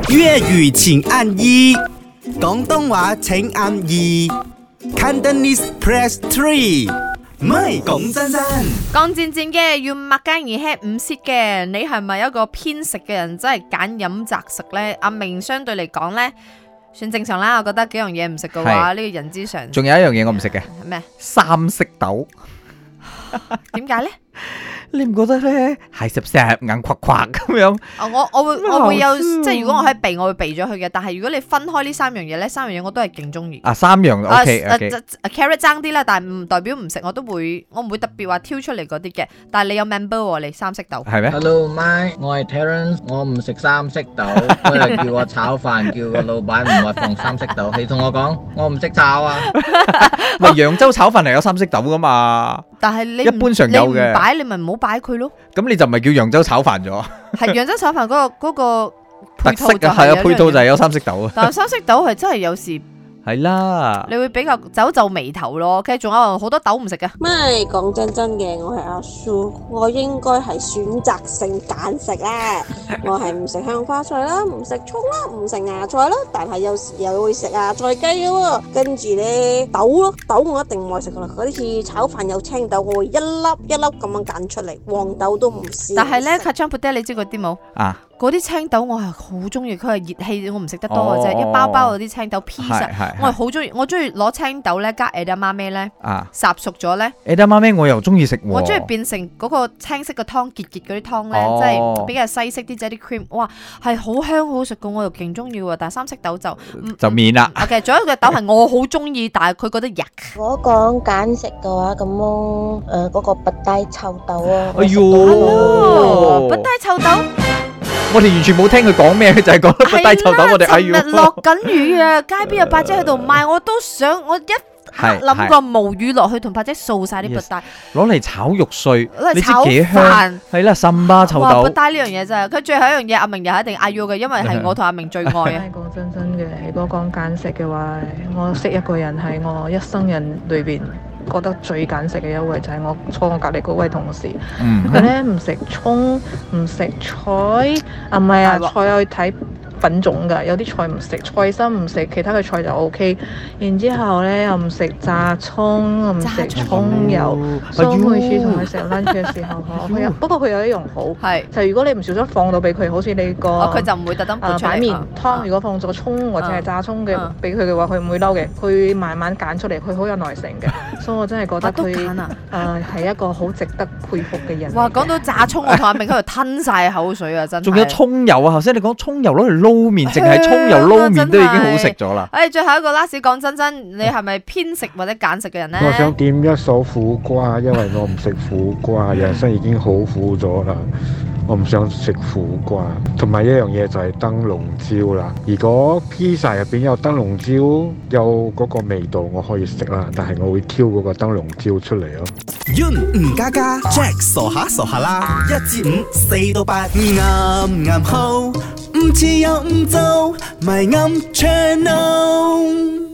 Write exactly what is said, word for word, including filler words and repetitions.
粵語請按一，廣東話請按二 ，Cantonese press three。唔係講真真， 講戰戰嘅要擘雞而吃唔蝕嘅，你係咪一個偏食嘅人？真係揀飲擇食呢？阿明相對嚟講呢，算正常啦。我覺得幾樣嘢唔食嘅話，呢個人之常。 仲有一樣嘢我唔食嘅， 咩？ 三色豆。 點解呢？ 你唔覺得咧係濕濕硬垮垮咁樣？ 哦，我我會我會有，即係如果我喺避，我會避咗佢嘅。但係如果你分開呢三樣嘢咧，三樣嘢我都係勁中意。 啊，三樣 OK OK。 carrot 爭啲啦，但係唔代表唔食，我都會，我唔會特別話挑出嚟嗰啲嘅。但係你有 member 喎，你三色豆係咩 ？Hello my，我係 Terence，我唔食三色豆，佢係叫我炒飯，叫個老闆唔係放三色豆。你同我講，我唔識炒啊！ 喂，揚州炒飯係有三色豆噶嘛？ 但係你一般常有嘅， 你唔擺你咪唔好擺佢咯。 咁你就唔係叫揚州炒飯咗？ 係揚州炒飯嗰個嗰個特色啊，係啊，配套就係有三色豆啊。 但係三色豆係真係有時係啦， 你會比較皺皺眉頭咯。其實仲有好多豆唔食嘅。 咪講真真嘅，我係阿蘇，我應該係選擇性揀食啦。我係唔食香花菜啦，唔食葱啦，唔食芽菜啦，但係有時又會食芽菜雞嘅喎。跟住咧豆咯，豆我一定唔愛食噶啦。嗰啲似炒飯有青豆，我會一粒一粒咁樣揀出嚟，黃豆都唔試。 但係咧，kacang puteh你知嗰啲冇啊？ 嗰啲青豆我係好中意，佢係熱氣，我唔食得多嘅啫。一包包嗰啲青豆 piece，我係好中意，我中意攞青豆咧加 edamame 咧，烚熟咗咧。 edamame 我又中意食喎。 我中意變成嗰個青色嘅湯，結結嗰啲湯咧，即係比較西式啲，即係啲 cream，哇，係好香好食嘅，我又勁中意喎。但係三色豆就就免啦。 OK，仲有一個豆係我好中意，但係佢覺得yuck。 我講揀食嘅話，咁樣誒嗰個拔帶臭豆啊， 哎呦， 拔帶臭豆。 我哋完全冇聽佢講咩，佢就係講拔帶臭豆。我哋哎呀， 尋日落緊雨啊，街邊有八姐喺度賣，我都想我一諗過無語落去同八姐掃晒啲拔帶， 攞嚟炒肉碎， 你知幾香？ 係啦，參巴臭豆。 拔帶呢樣嘢真係，佢最後一樣嘢，阿明又一定嗌要嘅，因為係我同阿明最愛啊。 講真真嘅，如果講揀食嘅話，我識一個人係我一生人裏邊覺得最揀食嘅一位，就係我坐我隔離嗰位同事。佢咧唔食葱，唔食菜，啊唔係啊，菜可以睇品種㗎，有啲菜唔食，菜心唔食，其他嘅菜就 O K。然之後咧又唔食炸葱，又唔食葱油。所以每次同佢食 lunch 嘅時候，佢有不過佢有一樣好，係就如果你唔小心放到俾佢，好似你個佢就唔會特登誒擺麵湯，如果放咗葱或者係炸葱嘅俾佢嘅話，佢唔會嬲嘅，佢慢慢揀出嚟，佢好有耐性嘅。所以我真係覺得佢誒係一個好值得佩服嘅人。 哇！講到炸葱，我同阿明喺度吞晒口水啊！真係。 仲有葱油啊！頭先你講葱油攞嚟撈麵，淨係葱油撈麵都已經好食咗啦。 誒，最後一個 last 講真真，你係咪偏食或者揀食嘅人咧？ 我想點一首苦瓜，因為我唔食苦瓜，人生已經好苦咗啦。我唔想食苦瓜，同埋一樣嘢就係燈籠椒啦。如果披薩入邊有燈籠椒，有嗰個味道，我可以食啦。但係我會挑嗰個燈籠椒出嚟咯。 Yun 吳家家 Jack 傻下傻下啦，一至五四到八，啱啱好，唔似又唔做，咪啱 channel。